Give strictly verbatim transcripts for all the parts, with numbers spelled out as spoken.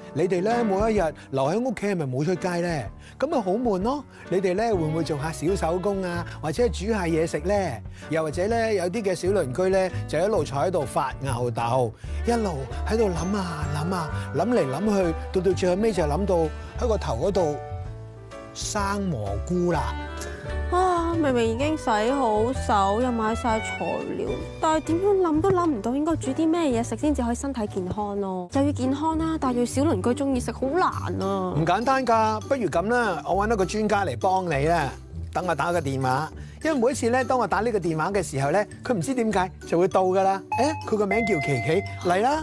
你哋咧每一日留喺屋企係咪冇出街咧？咁咪好悶咯！你哋咧會唔會做下小手工啊，或者煮下嘢食咧？又或者咧有啲嘅小鄰居咧就一路坐喺度發吽哣，一路喺度諗啊諗啊諗嚟諗去，到到最後尾就諗到喺個頭嗰度生蘑菇啦！ 啊，明明已經洗好手，又買晒材料，但係點樣諗都諗唔到應該煮啲咩嘢食先至可以身體健康咯。又要健康啦，但係要小鄰居中意食，好難啊！ 唔簡單㗎，不如咁啦，我揾一個專家嚟幫你啦。等我打個電話，因為每一次咧，當我打呢個電話嘅時候咧，佢唔知點解就會到㗎啦。誒，佢個名叫琪琪，嚟啦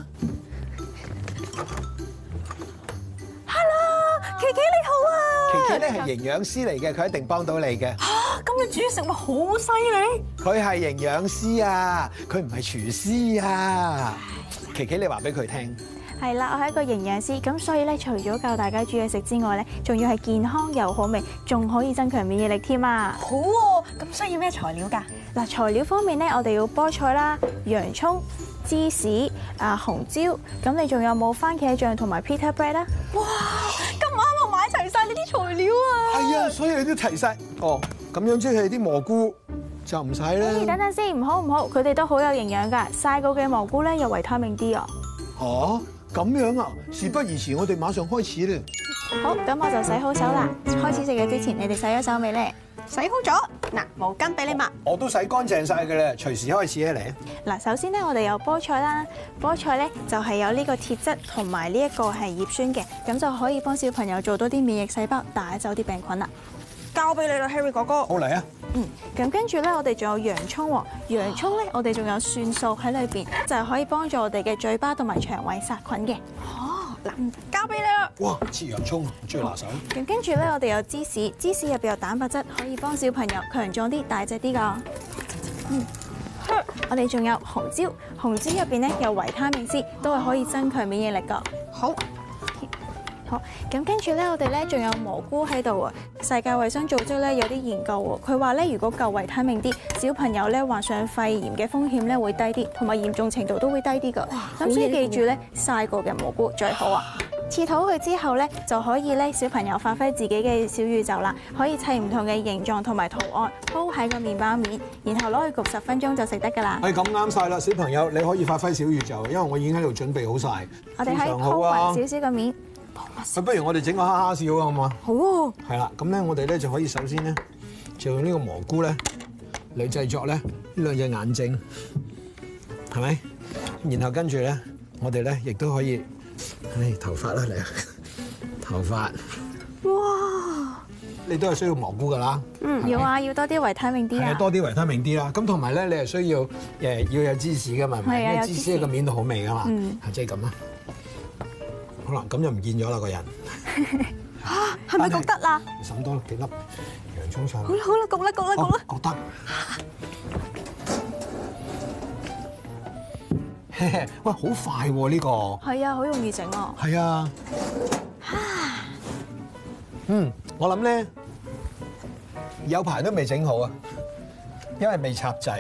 ！Hello， 琪琪你好啊！ 琪琪咧係營養師嚟嘅，佢一定幫到你嘅。 嚇，咁你煮食物好犀利！ 佢係營養師啊，佢唔係廚師啊。琪琪，你話俾佢聽。 係啦，我係一個營養師，咁所以咧，除咗教大家煮嘢食之外咧，仲要係健康又好味，仲可以增強免疫力添啊！ 好喎，咁需要咩材料㗎？ 嗱，材料方面咧，我哋要菠菜啦、洋葱、芝士、啊紅椒，咁你仲有冇番茄醬同埋 pita bread 啊？ 哇，咁啱我買齊晒呢啲材料啊！ 係啊，所以你都齊晒。哦，咁樣即係啲蘑菇就唔使啦。 咦，等等先，唔好唔好，佢哋都好有營養㗎，曬過嘅蘑菇咧有維他命 D 啊！ 嚇，咁樣啊？事不宜遲，我哋馬上開始啦。 好，咁我就洗好手啦。開始食嘢之前，你哋洗咗手未咧？ 洗好咗，嗱，毛巾俾你抹。 我都洗乾淨晒㗎啦，隨時開始啊嚟。 嗱，首先咧，我哋有菠菜啦，菠菜咧就係有呢個鐵質同埋呢一個係葉酸嘅，咁就可以幫小朋友做多啲免疫細胞，帶走啲病菌啦。 交俾你啦 ，Harry 哥哥。 好嚟啊！ 嗯，咁跟住咧，我哋仲有洋葱喎，洋葱咧，我哋仲有蒜素喺裏邊，就係可以幫助我哋嘅嘴巴同埋腸胃殺菌嘅。 哦，嗱，交俾你啦。 哇，切洋葱，最拿手。 咁跟住咧，我哋有芝士，芝士入邊有蛋白質，可以幫小朋友強壯啲、大隻啲㗎。嗯，我哋仲有紅椒，紅椒入邊咧有維他命 C， 都係可以增強免疫力㗎。 好。 好，咁跟住咧，我哋咧仲有蘑菇喺度啊！世界衛生組織咧有啲研究喎，佢話咧如果夠維他命 D， 小朋友咧患上肺炎嘅風險咧會低啲，同埋嚴重程度都會低啲㗎。咁所以記住咧，曬過嘅蘑菇最好啊！切好佢之後咧，就可以咧小朋友發揮自己嘅小宇宙啦，可以砌唔同嘅形狀同埋圖案鋪喺個麵包面，然後攞去焗十分鐘就食得㗎啦。 係咁啱晒啦，小朋友你可以發揮小宇宙，因為我已經喺度準備好晒。 我哋喺鋪勻少少個面。 不如我哋整個哈哈笑啊，好嘛？ 好喎。 係啦，咁咧我哋咧就可以首先咧就用呢個蘑菇咧嚟製作咧呢兩隻眼睛，係咪？然後跟住咧我哋咧亦都可以，唉頭髮啦嚟啊，頭髮。 哇！ 你都係需要蘑菇㗎啦。 嗯，要啊，要多啲維他命 D 啊。 係啊，多啲維他命 D 啦。咁同埋咧，你係需要誒要有芝士㗎嘛？ 係啊， 因為芝士喺個面度好味㗎嘛。 嗯， 即係咁啦。好啦，咁就唔見咗啦個人。 嚇，係咪焗得啦？ 滲多幾粒洋葱上。 好啦好啦，焗啦焗啦焗啦。 焗得。喂，好快喎呢個。 係啊，好容易整啊。 係啊。嗯，我諗咧有排都未整好啊，因為未插掣。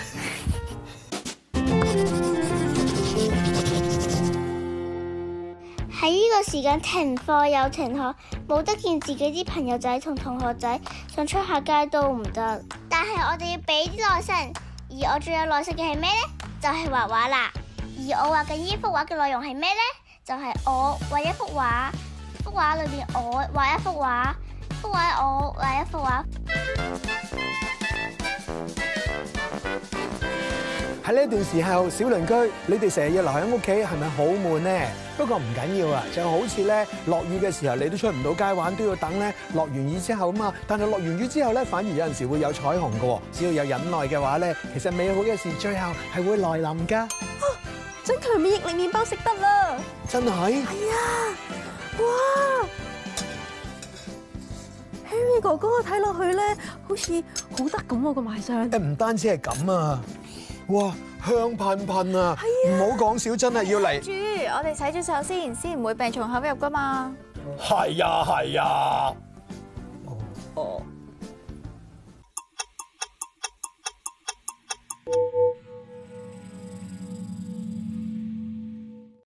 喺呢個時間停課又停學，冇得見自己啲朋友仔同同學仔，想出下街都唔得。但係我哋要俾啲耐性，而我最有耐性嘅係咩呢？就係畫畫啦。而我畫緊呢幅畫嘅內容係咩呢？就係我畫一幅畫，幅畫裏邊我畫一幅畫，幅畫我畫一幅畫。 喺呢一段時候，小鄰居，你哋成日要留喺屋企，係咪好悶呢？不過唔緊要啊，就好似咧落雨嘅時候，你都出唔到街玩，都要等咧落完雨之後啊嘛。但係落完雨之後咧，反而有陣時會有彩虹嘅。只要有忍耐嘅話咧，其實美好嘅事最後係會來臨㗎。 增強免疫力麵包食得啦！ 真係？ 係啊！哇 ，Harry 哥哥睇落去咧，好似好得咁喎個賣相。 誒唔單止係咁啊！哇，香噴噴啊！唔好講笑，真係要嚟。 住，我哋洗咗手先，先唔會病從口入噶嘛。 係啊，係啊。 哦。